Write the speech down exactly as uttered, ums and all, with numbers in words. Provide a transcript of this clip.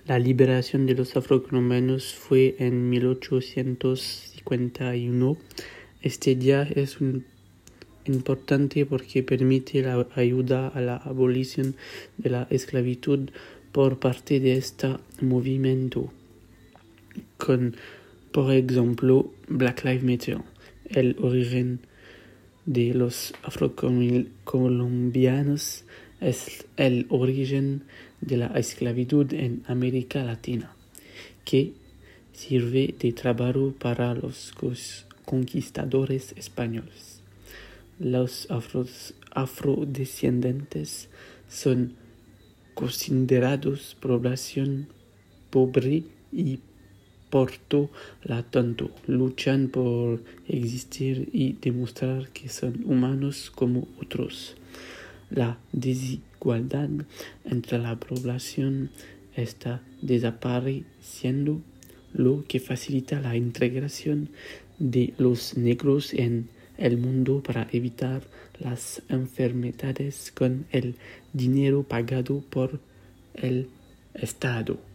La liberación de los afrocolombianos fue en mil ochocientos cincuenta y uno. Este día es un importante porque permite la ayuda a la abolición de la esclavitud por parte de este movimiento, con, por ejemplo, Black Lives Matter. El origen de los afrocolombianos es el origen de la esclavitud en América Latina, que sirve de trabajo para los conquistadores españoles. Los afros, afrodescendientes son considerados población pobre y por lo tanto luchan por existir y demostrar que son humanos como otros. La desigualdad entre la población está desapareciendo, lo que facilita la integración de los negros en el mundo para evitar las enfermedades con el dinero pagado por el Estado.